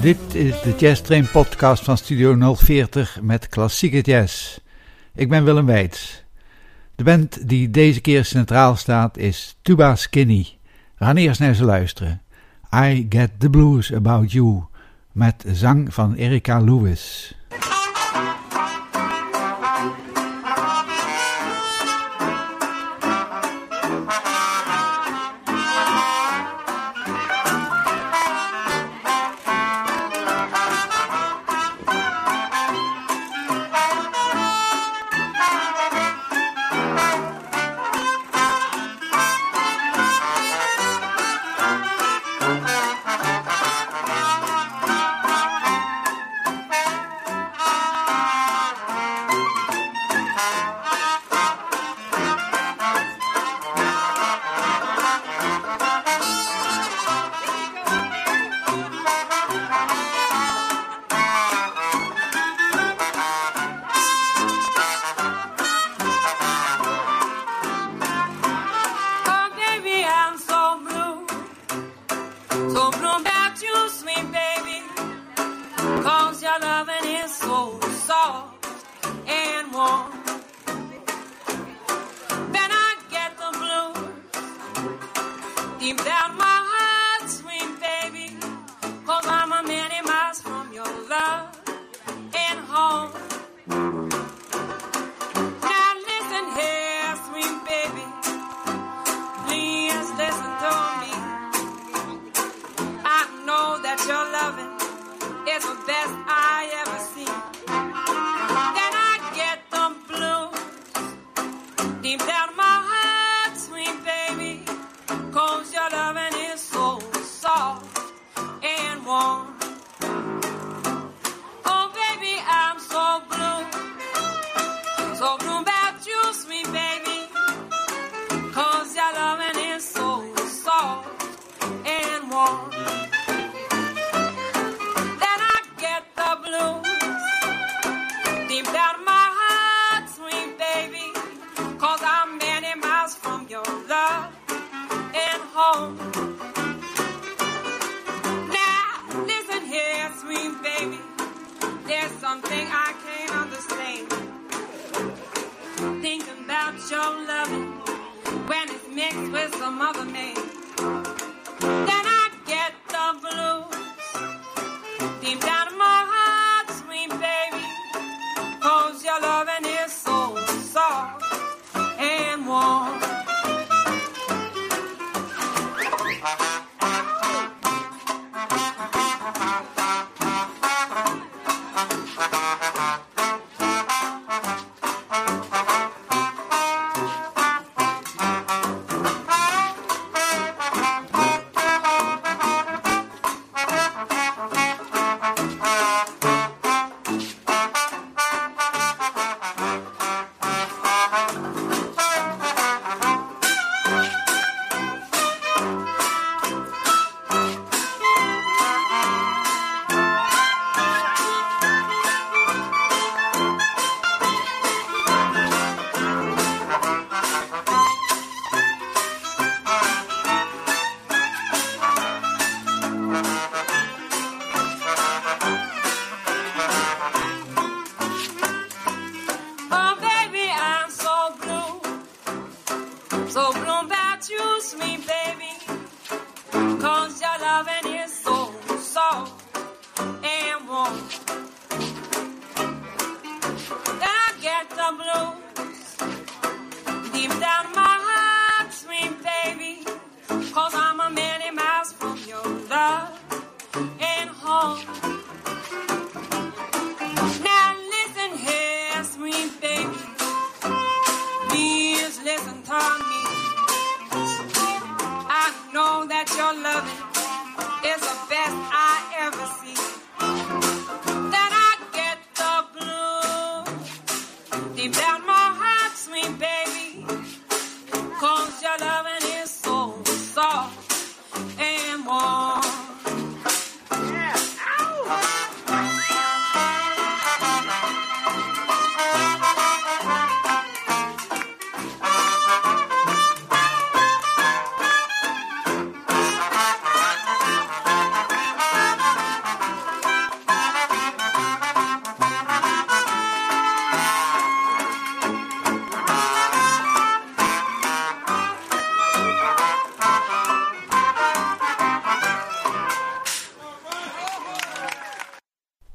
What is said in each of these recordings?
Dit is de Jazz Train podcast van Studio 040 met klassieke jazz. Ik ben Willem Weits. De band die deze keer centraal staat is Tuba Skinny. We gaan eerst naar ze luisteren. I Get the Blues About You met zang van Erica Lewis.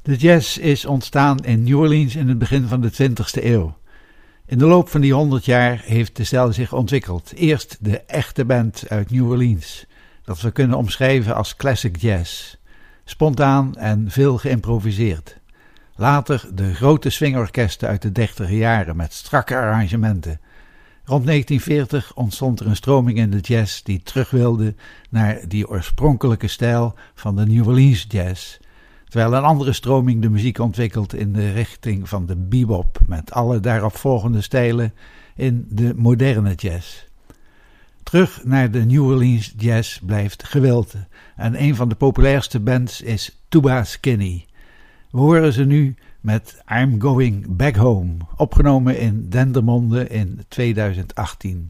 De jazz is ontstaan in New Orleans in het begin van de 20e eeuw. In de loop van die 100 jaar heeft de stijl zich ontwikkeld. Eerst de echte band uit New Orleans, dat we kunnen omschrijven als classic jazz. Spontaan en veel geïmproviseerd. Later de grote swingorkesten uit de 30e jaren met strakke arrangementen. Rond 1940 ontstond er een stroming in de jazz die terug wilde naar die oorspronkelijke stijl van de New Orleans jazz. Terwijl een andere stroming de muziek ontwikkelt in de richting van de bebop met alle daarop volgende stijlen in de moderne jazz. Terug naar de New Orleans jazz blijft gewild en een van de populairste bands is Tuba Skinny. We horen ze nu met I'm Going Back Home, opgenomen in Dendermonde in 2018.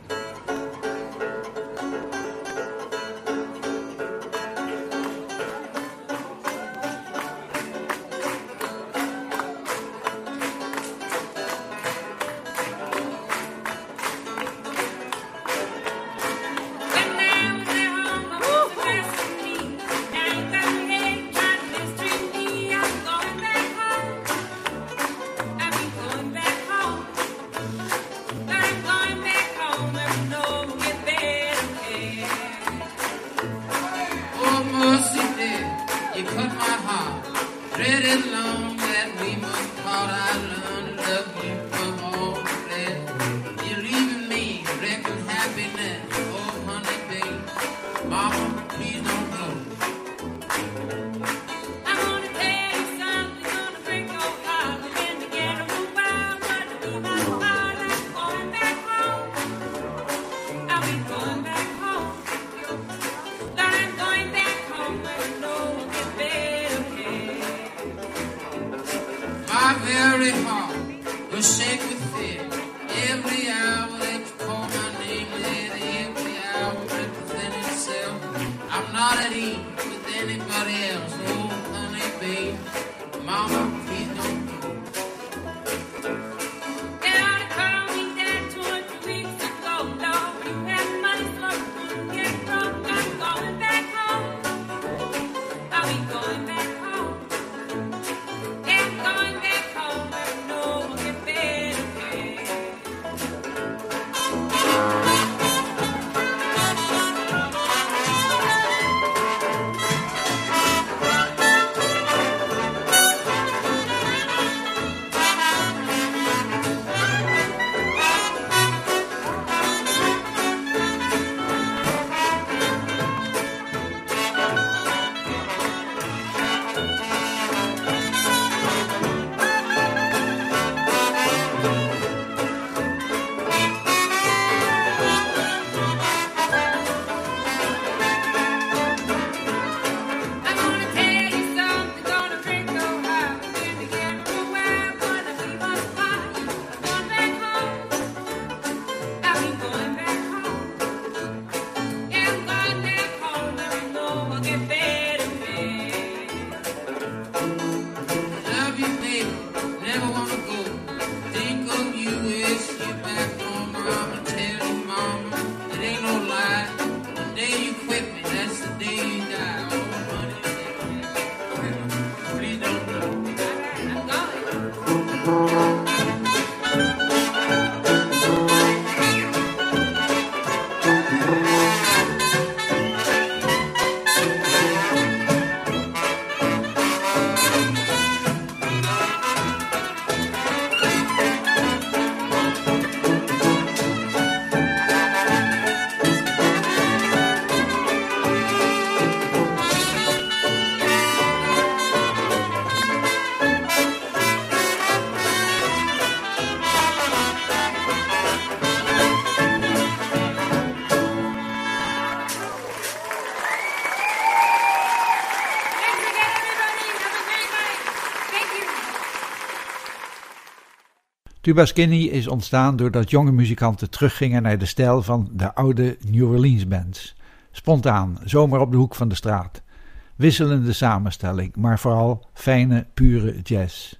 Tuba Skinny is ontstaan doordat jonge muzikanten teruggingen naar de stijl van de oude New Orleans bands. Spontaan, zomaar op de hoek van de straat. Wisselende samenstelling, maar vooral fijne, pure jazz.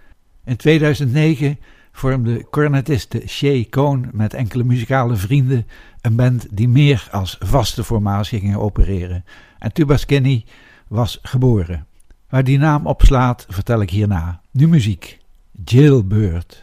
In 2009 vormde cornetiste Shay Cohn met enkele muzikale vrienden een band die meer als vaste formatie ging opereren. En Tuba Skinny was geboren. We Waar die naam op slaat, vertel ik hierna. Nu muziek. Jailbird.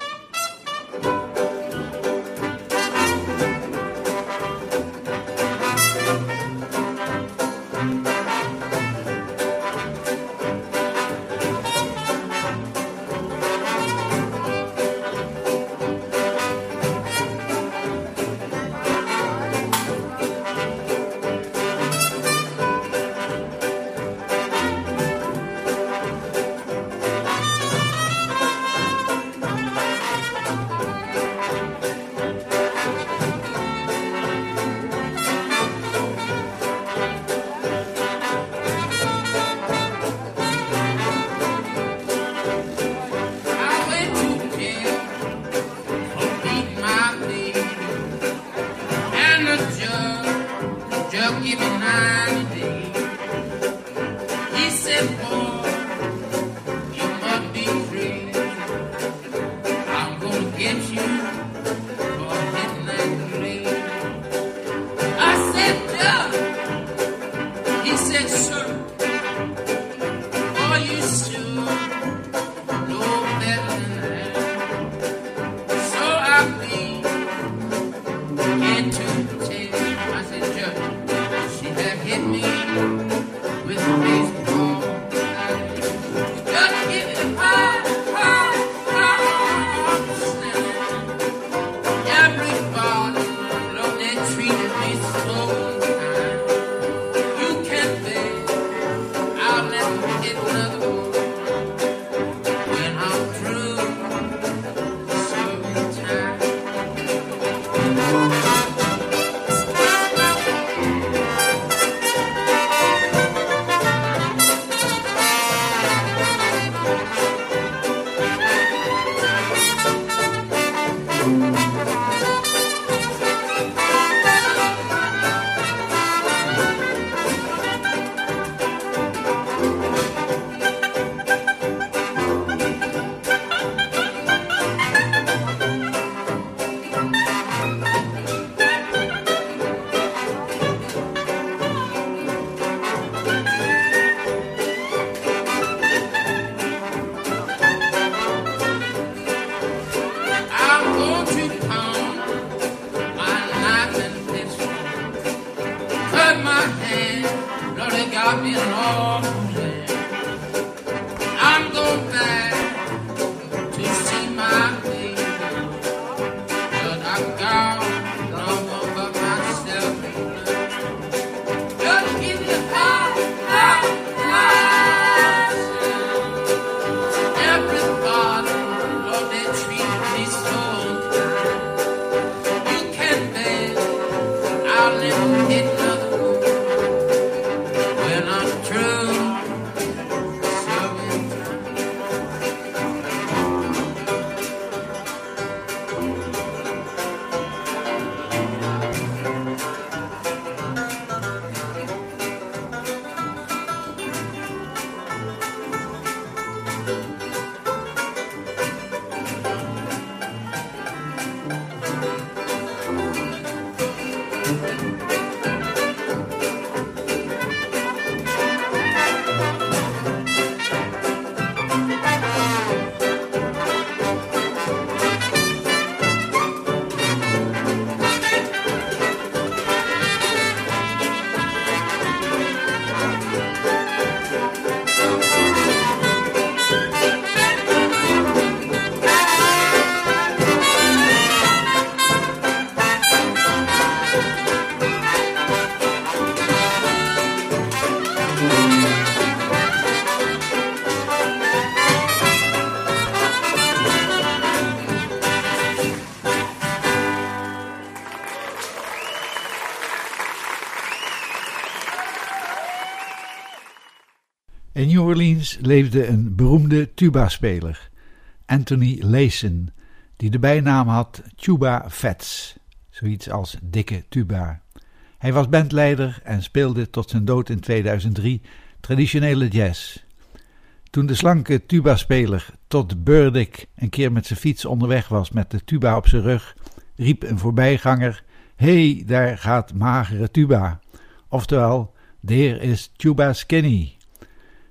In New Orleans leefde een beroemde tuba-speler, Anthony Layson, die de bijnaam had Tuba Fats, zoiets als dikke tuba. Hij was bandleider en speelde tot zijn dood in 2003 traditionele jazz. Toen de slanke tuba-speler Todd Burdick een keer met zijn fiets onderweg was met de tuba op zijn rug, riep een voorbijganger: "Hey, daar gaat magere tuba." Oftewel, there is Tuba Skinny.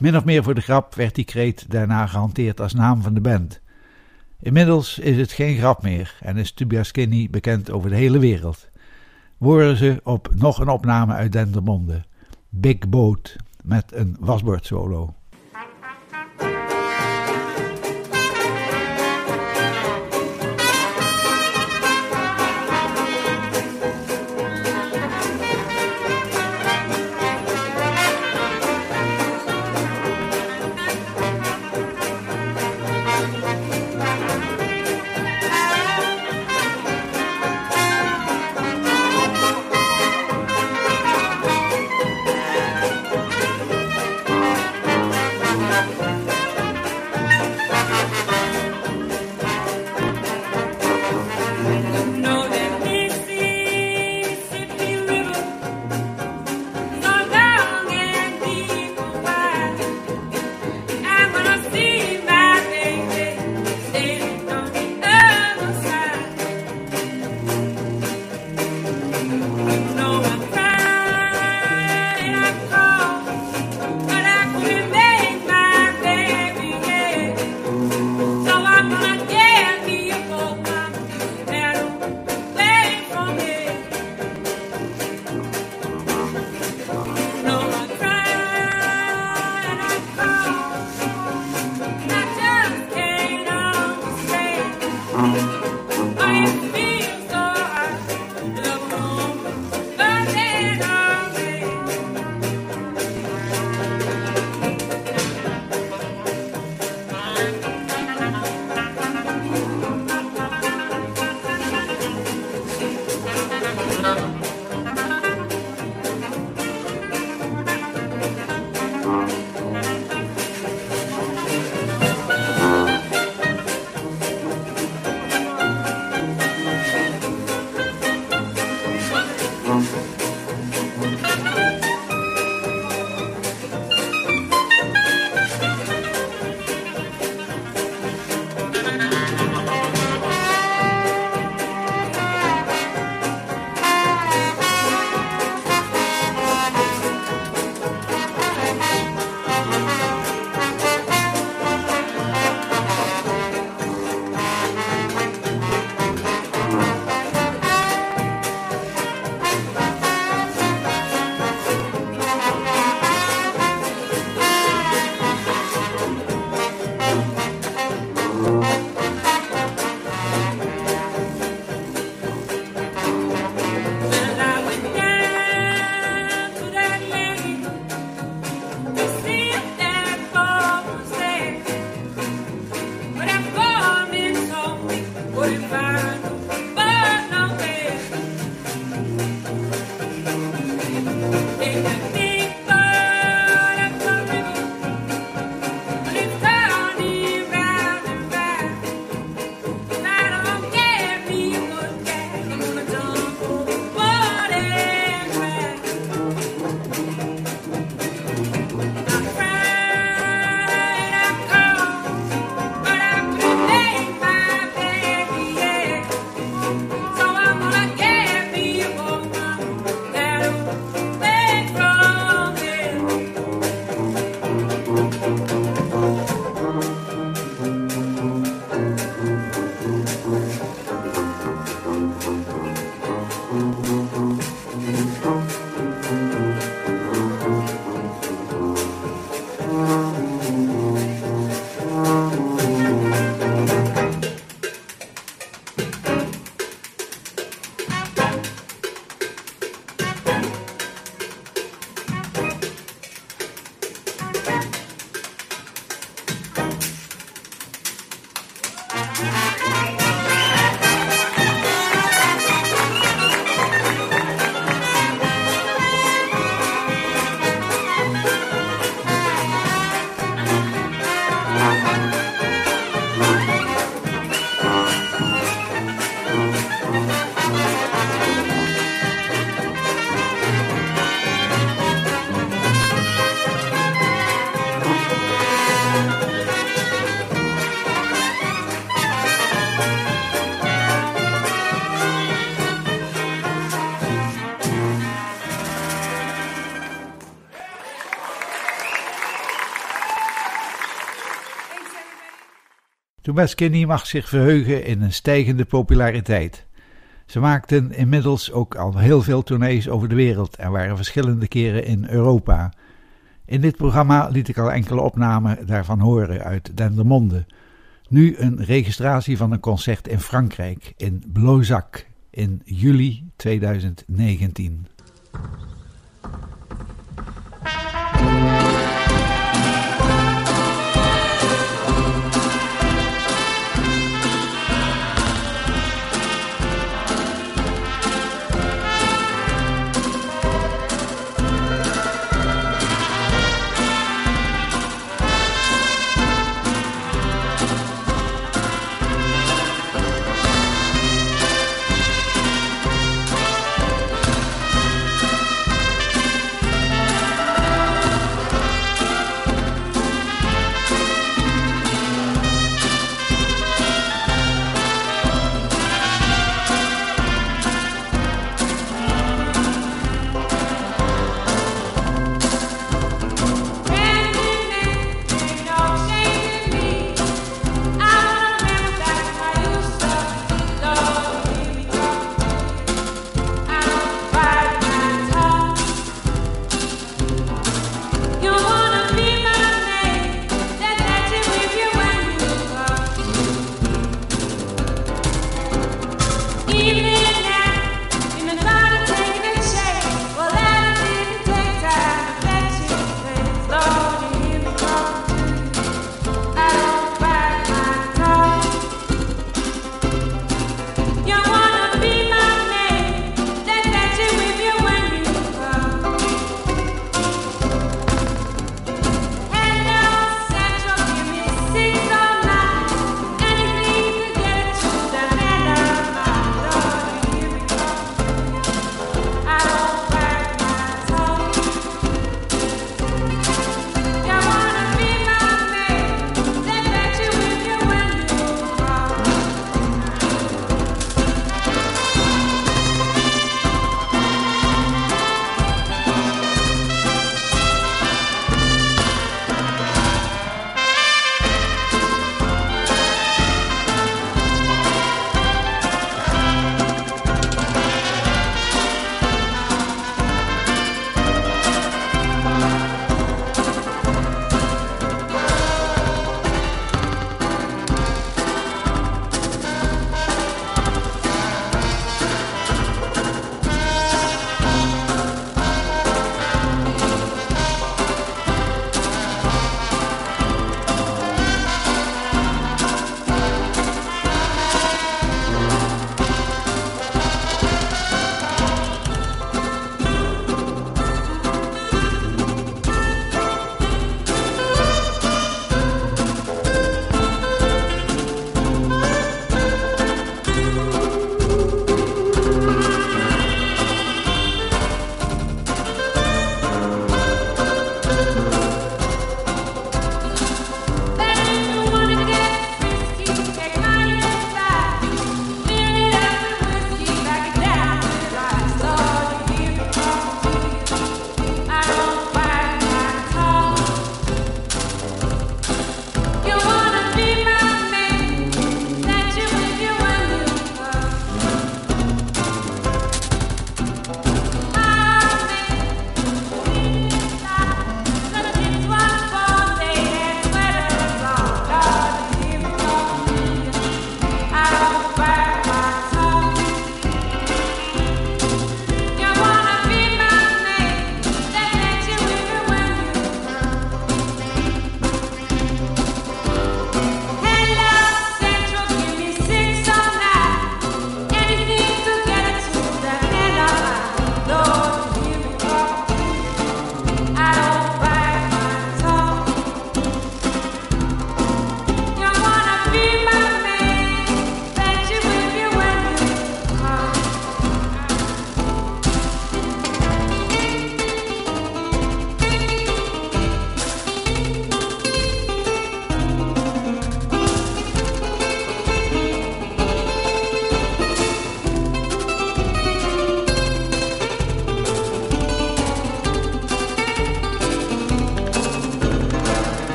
Min of meer voor de grap werd die kreet daarna gehanteerd als naam van de band. Inmiddels is het geen grap meer en is Tubia Skinny bekend over de hele wereld. We horen ze op nog een opname uit Dendermonde, Big Boat, met een wasbordsolo. Toobah Skinny mag zich verheugen in een stijgende populariteit. Ze maakten inmiddels ook al heel veel tournees over de wereld en waren verschillende keren in Europa. In dit programma liet ik al enkele opnamen daarvan horen uit Dendermonde. Nu een registratie van een concert in Frankrijk, in Blauzac, in juli 2019.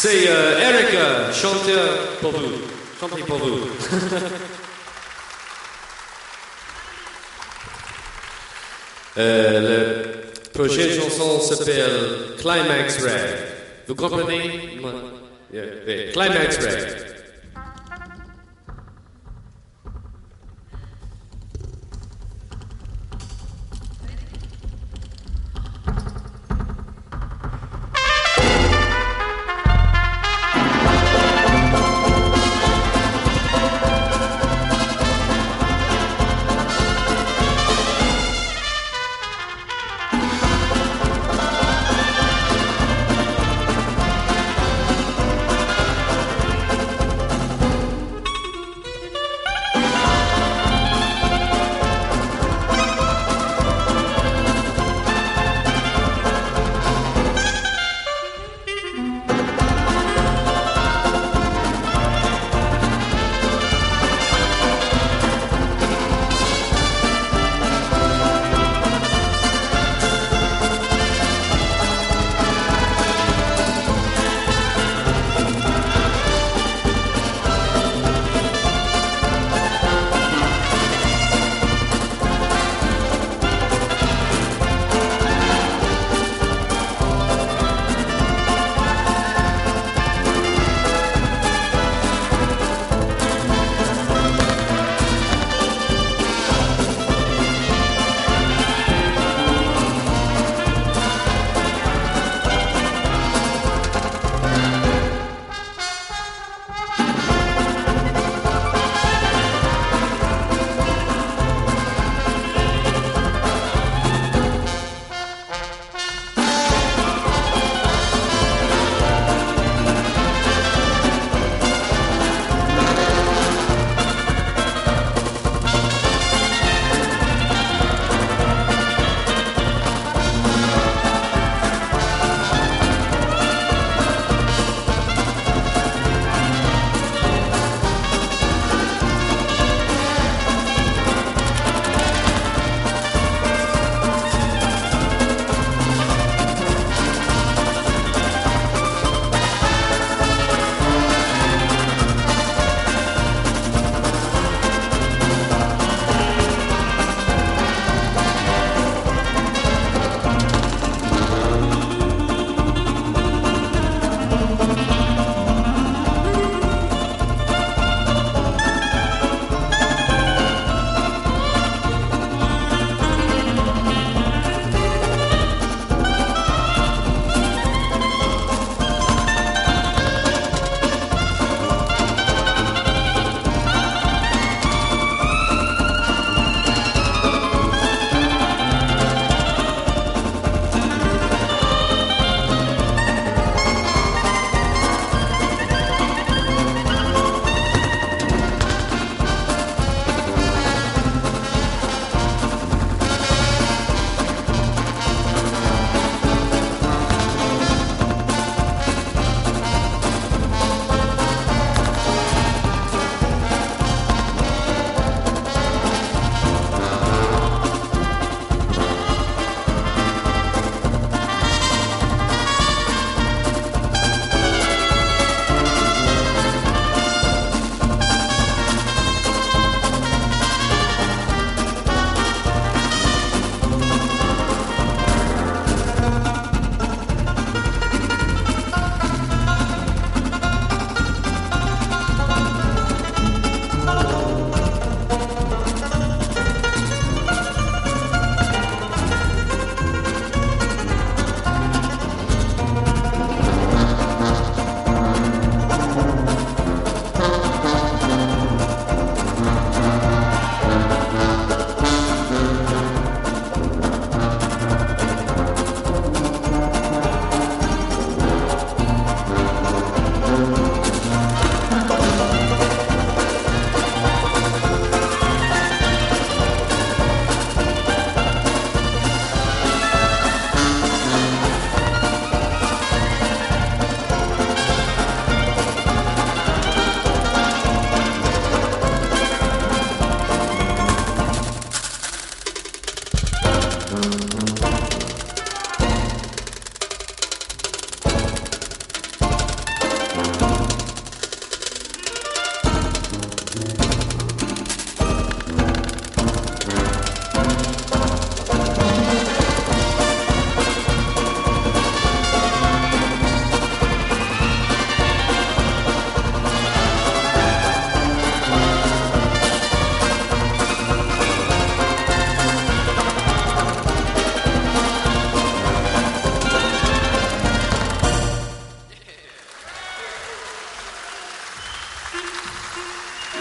C'est Eric, chanteur pour vous. Chantez pour vous. Le prochaine chanson s'appelle Climax Rag. Vous comprenez? Climax Rag.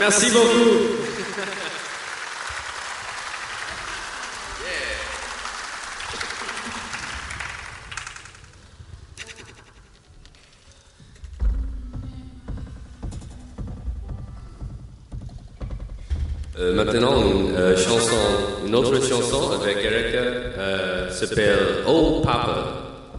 Merci beaucoup. Maintenant, une autre chanson avec Erika s'appelle Oh Papa.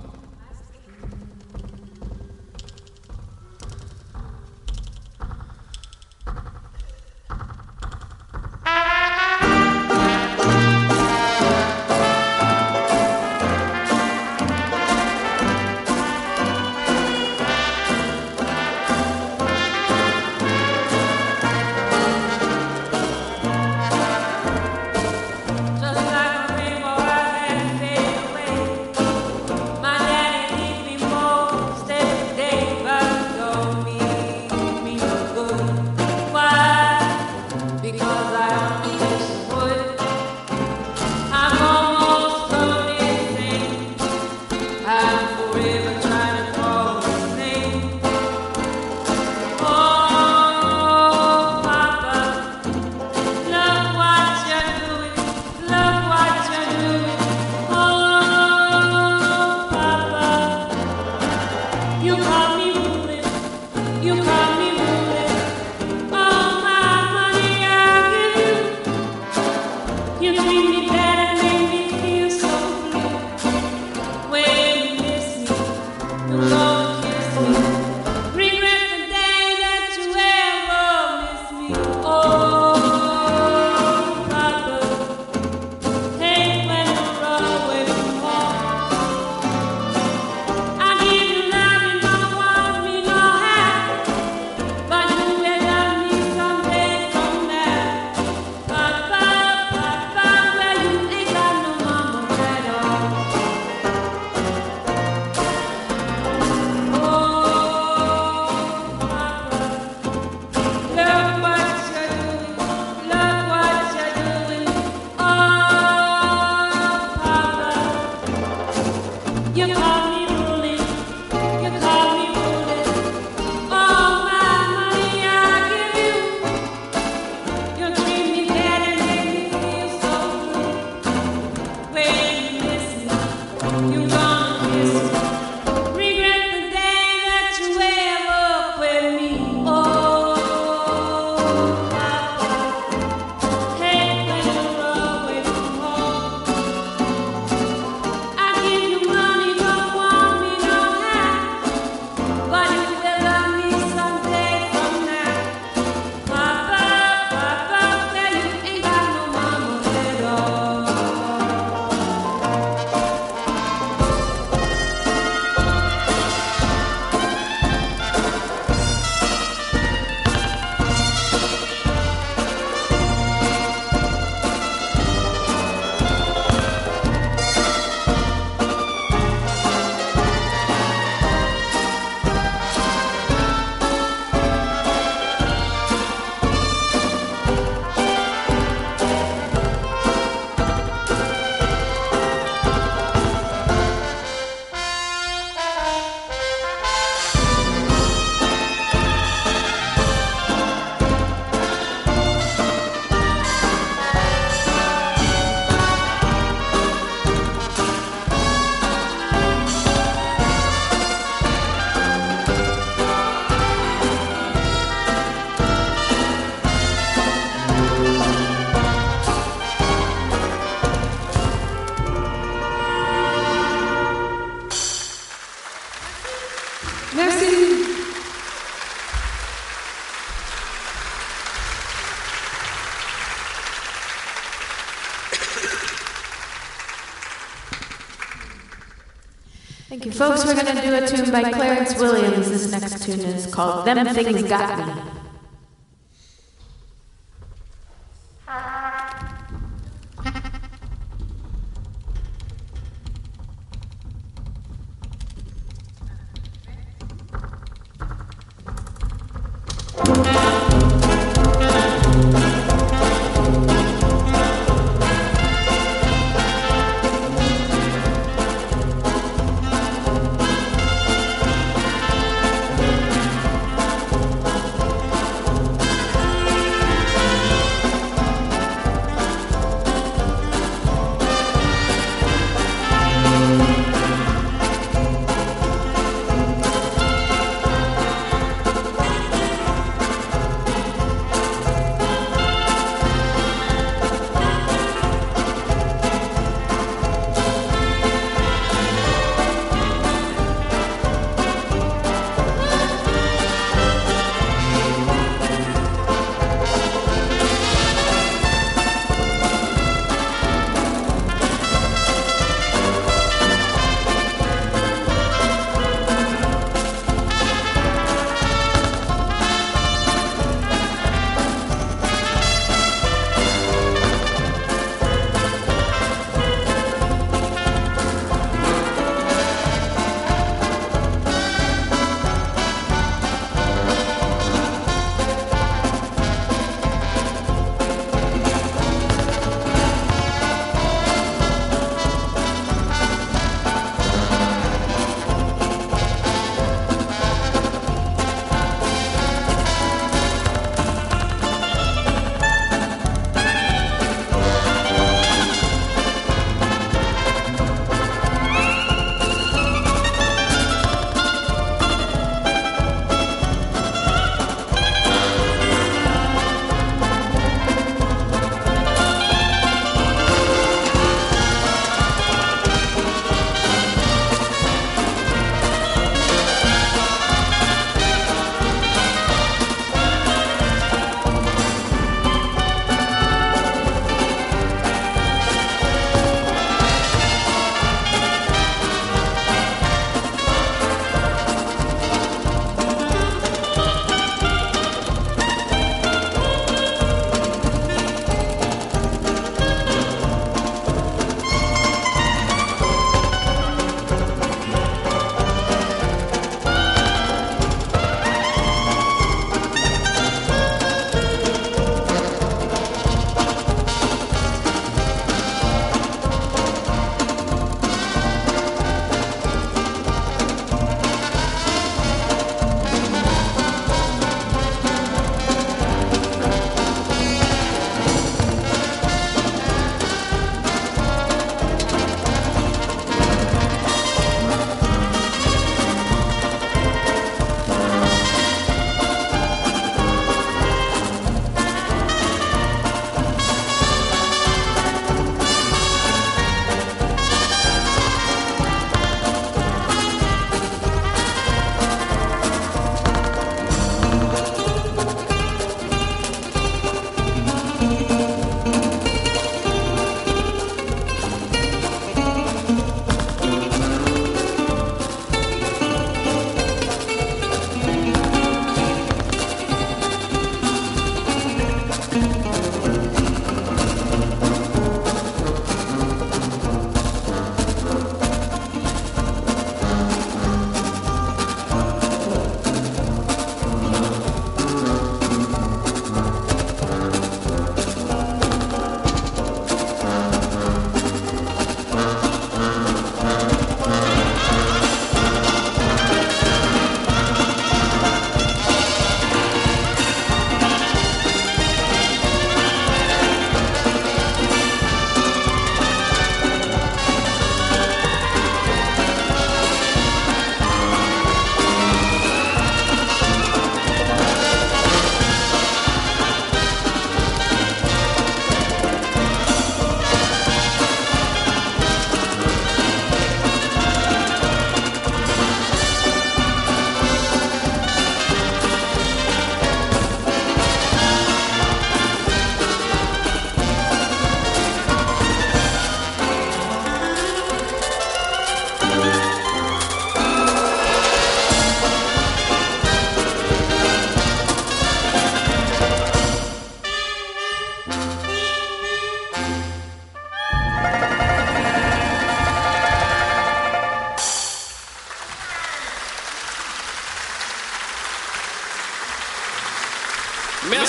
Thank you, folks. We're going to do a tune by Clarence Williams. This next tune is called Them Things Got Me.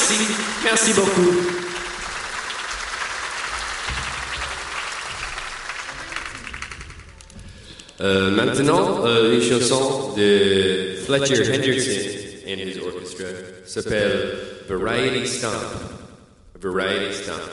Merci beaucoup. Maintenant, une chanson de Fletcher Henderson and his orchestra s'appelle Variety Stomp. Variety Stomp.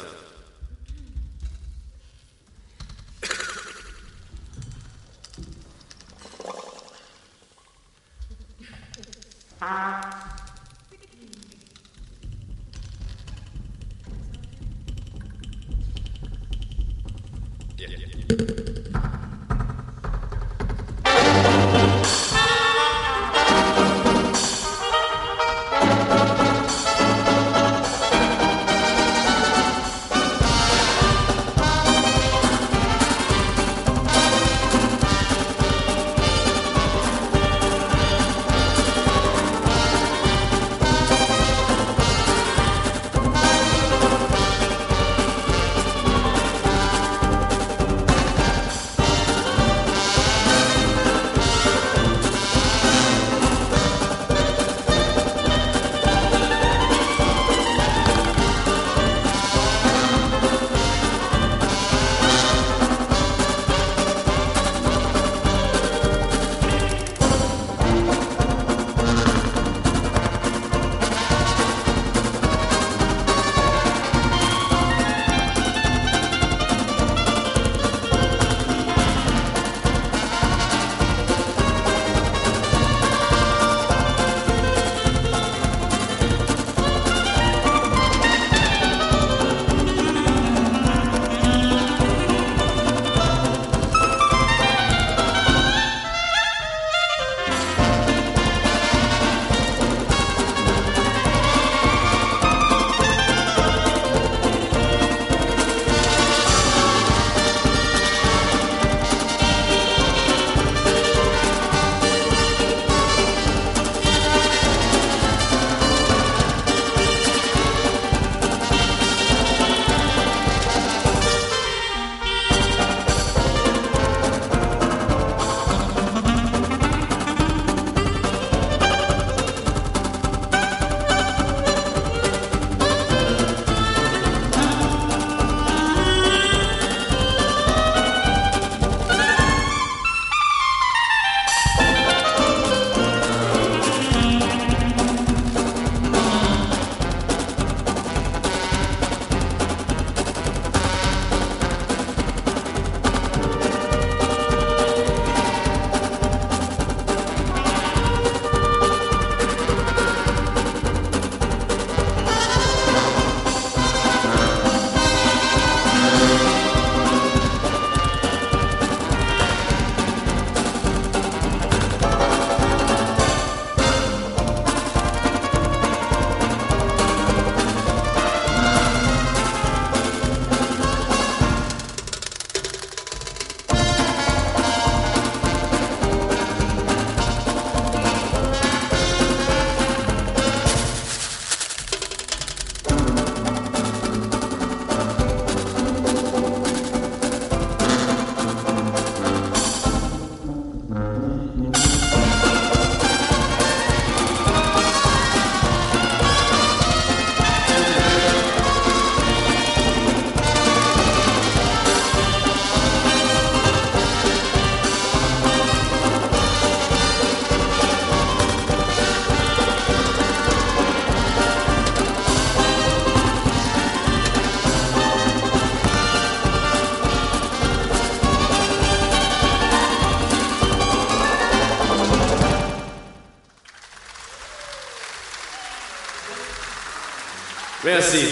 Merci.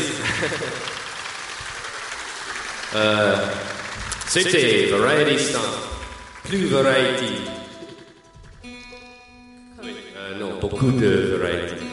C'était Variety Stomp. Plus Variety. Oui, non, beaucoup de Variety.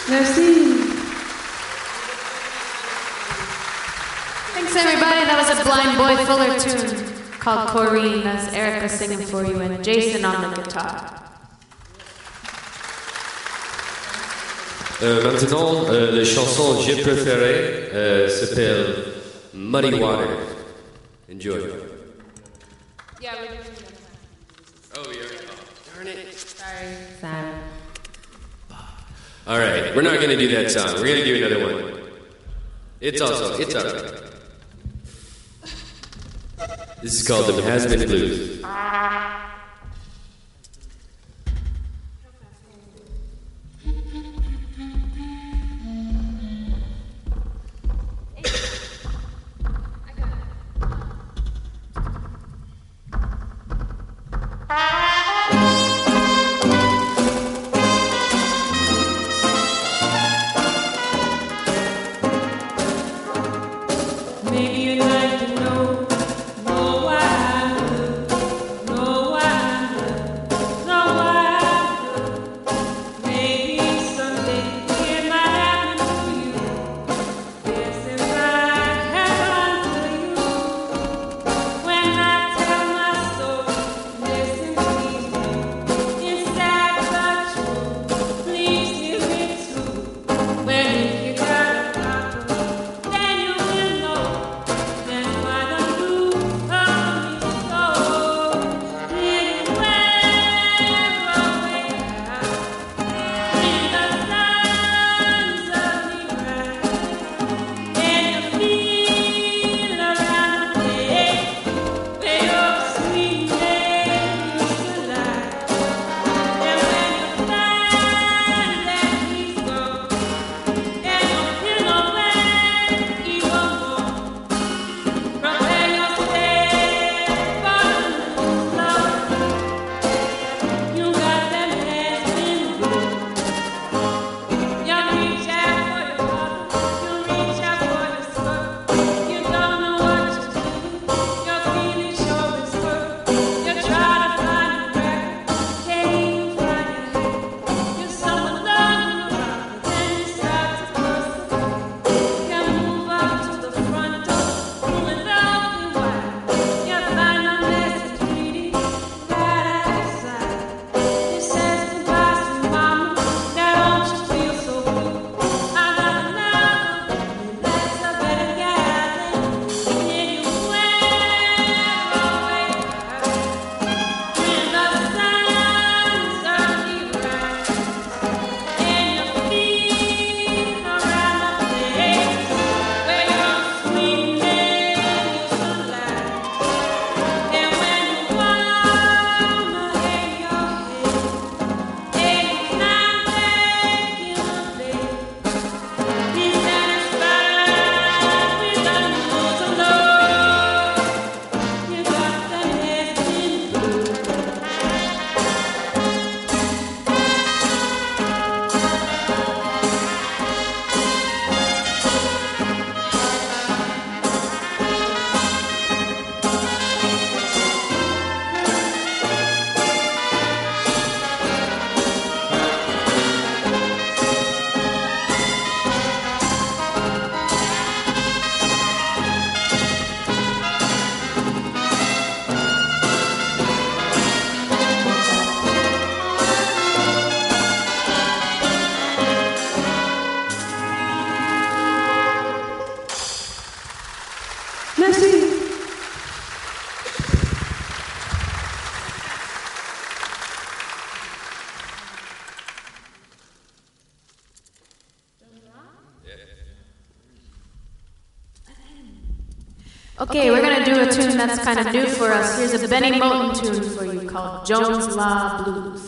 Merci. Thanks, everybody. That was a Blind Boy Fuller tune called Corrine. That's Erica singing for you and Jason on the guitar. Maintenant, la chanson que j'ai préférée s'appelle Muddy Water. Enjoy. Yeah, we're doing Oh, yeah. Oh, darn it. Sorry. All right, we're not going to do that song. We're going to do another one. It's all right. This is called the Has Been Blues. Maybe you'd like to know why I'm blue, know why I'm blue, know why I'm blue. Maybe someday it might happen to you. Yes, it might happen to you. When I tell my story, listen please, it's sad but true. Please hear it too. When you got a problem, then you will know. That's why the blues come me so. Anywhere away in the sun suddenly bright, and you feel around the place where your sweet name used to lie. And when you find that he's gone, and you feel no pain even more. From where you stay for the love, you got them hands in blue. You reach out for your mother, you reach out for your skirt. You don't know what to do, you're feeling sure it's hurt. You try to find a crack, can't even find your head. You're someone loving around, but then you start to burst away. You move up to the front door, pull it open wide. You find a message reading right outside. It says goodbye, sweet mama. Now don't you feel so blue? I got another one that's a better guy than anywhere away. When the sun suddenly rises and you feel around the place where your sweet name used to lie. And when you wanna hang your head, anytime taking a day, be satisfied with the news of love. You got the nest in blue. Merci. Okay, we're gonna do a tune that's kind of new for us. Here's a Benny Moten tune for you called Jones Law Blues.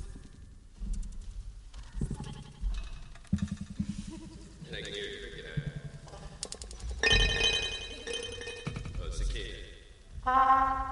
And I can hear your cricket out. Oh, cicada.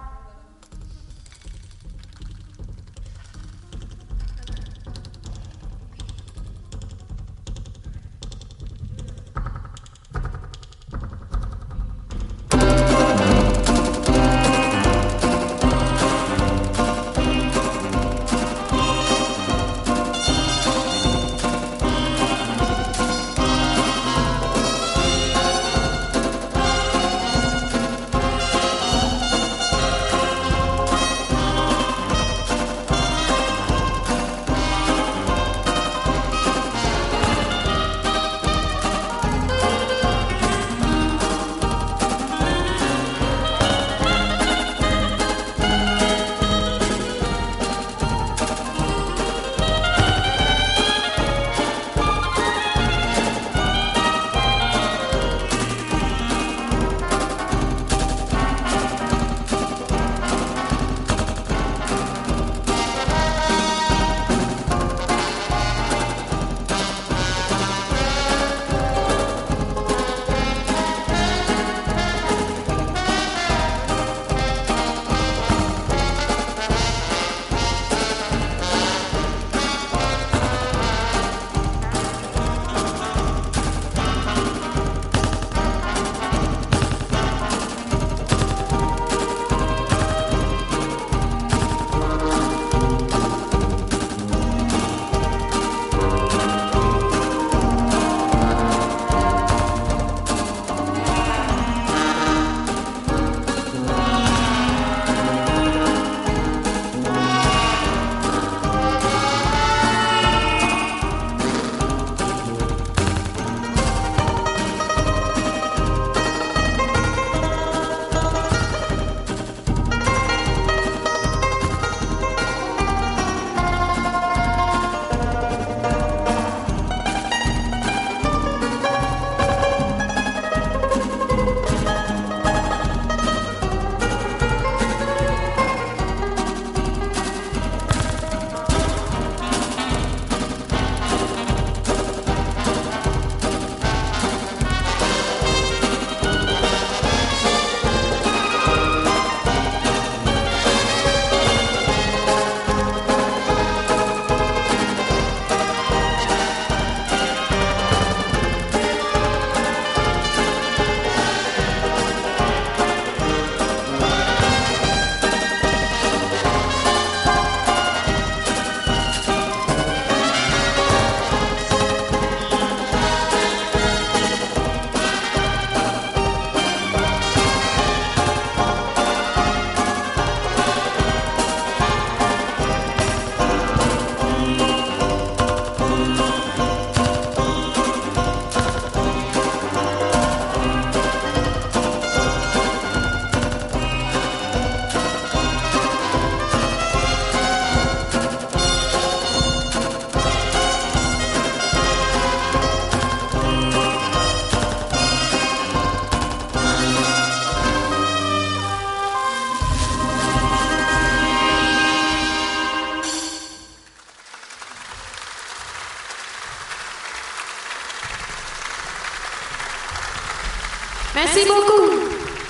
Merci beaucoup.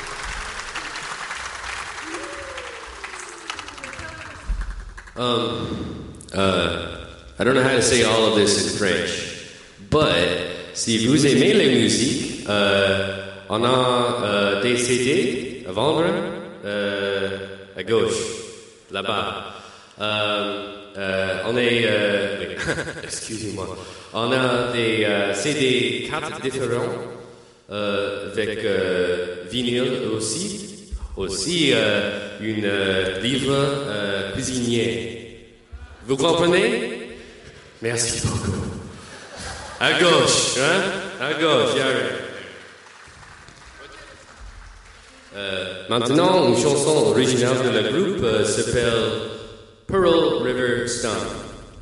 I don't know how to say all of this in French, but si vous aimez la musique, on a des CD à vendre à gauche, là-bas. On est, oui, excusez-moi, on a des CD 4 différents avec vinyle aussi une livre cuisinier. Vous comprenez? Merci beaucoup. À gauche, hein? À gauche, maintenant, une chanson originale de la groupe s'appelle Pearl River Stone.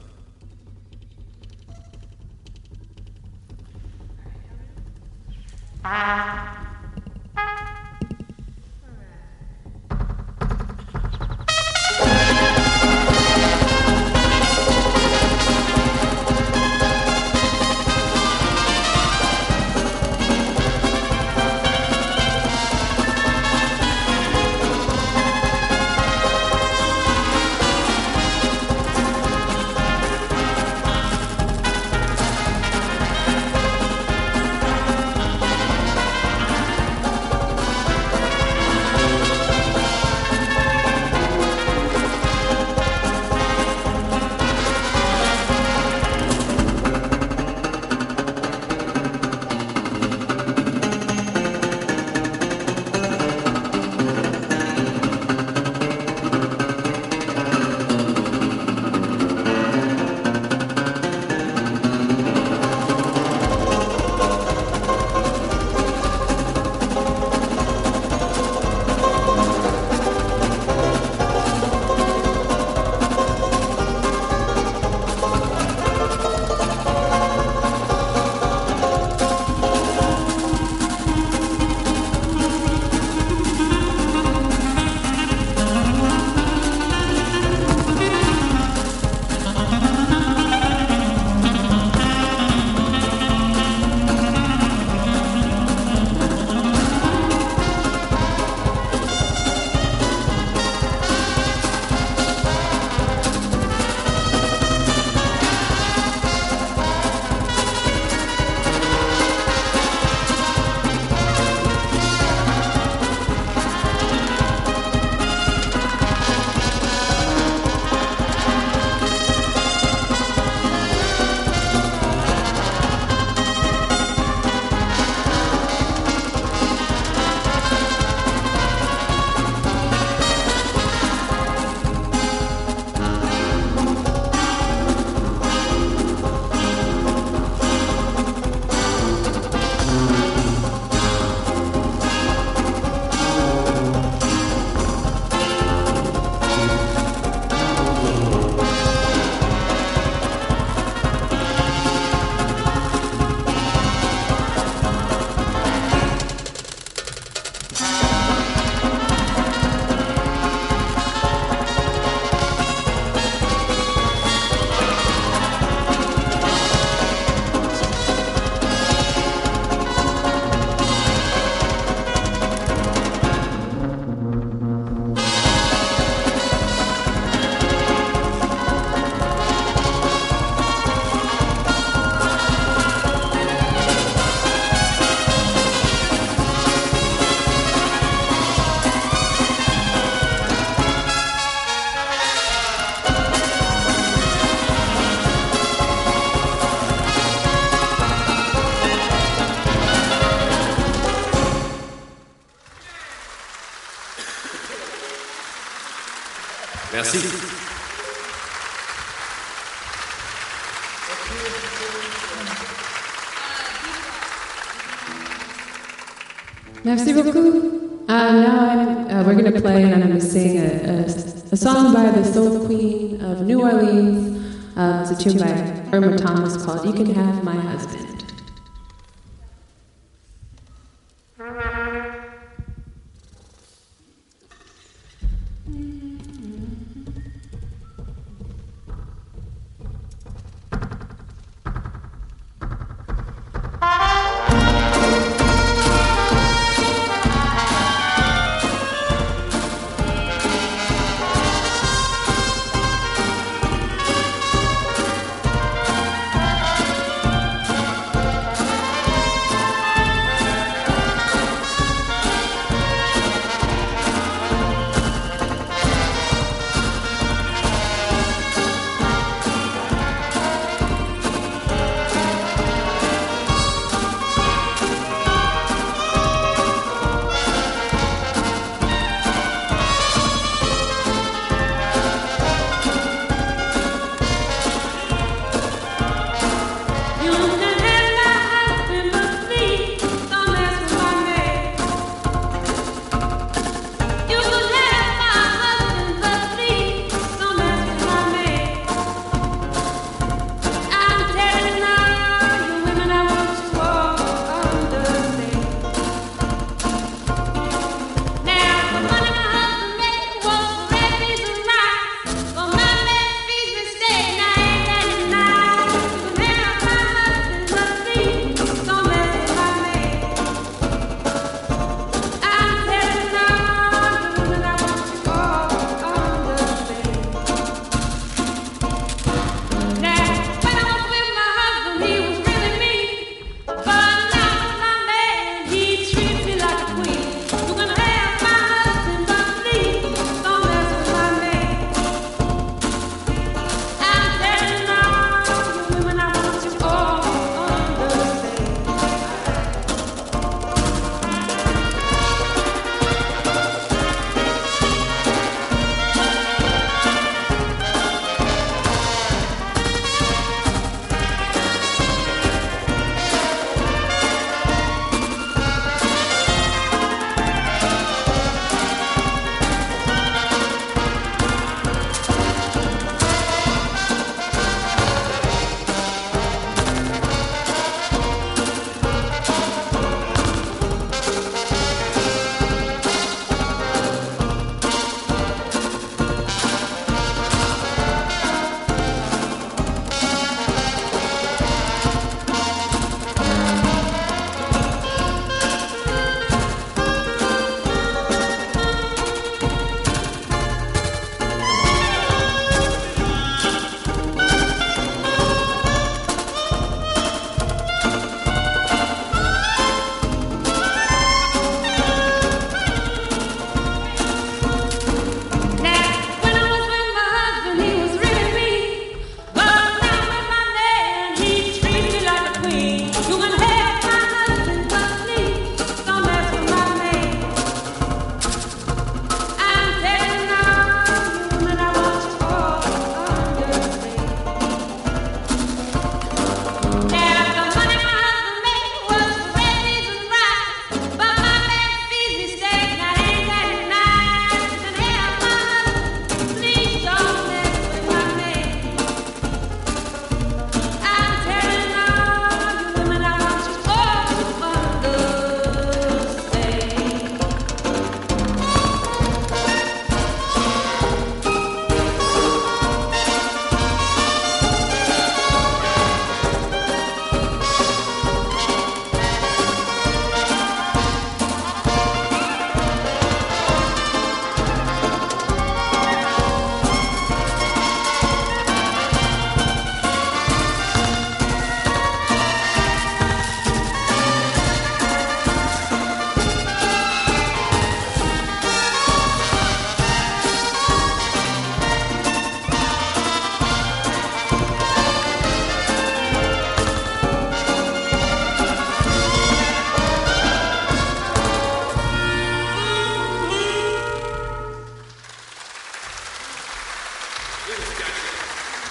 Merci. Merci beaucoup. Now we're going to play and I'm going to sing a song by the Soul Queen of New Orleans. It's a tune by Irma Thomas called You Can Have My Husband.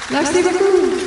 Merci beaucoup.